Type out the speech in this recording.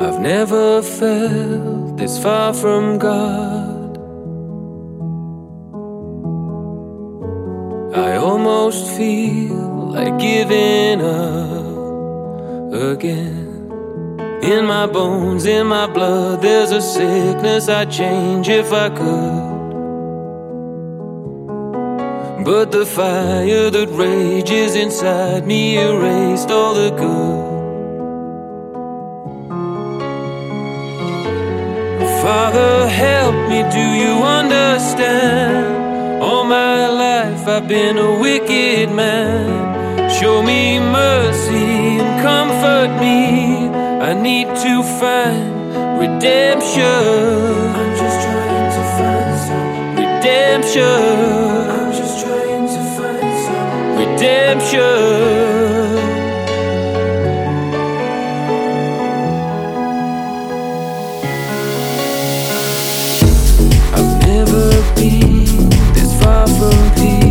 I've never felt this far from God. I almost feel like giving up again. In my bones, in my blood, there's a sickness I'd change if I could. But the fire that rages inside me erased all the good. Father, help me, do you understand? All my life I've been a wicked man. Show me mercy and comfort me. I need to find redemption. I'm just trying to find some redemption. I'm just trying to find some redemption. I've never been this far from peace.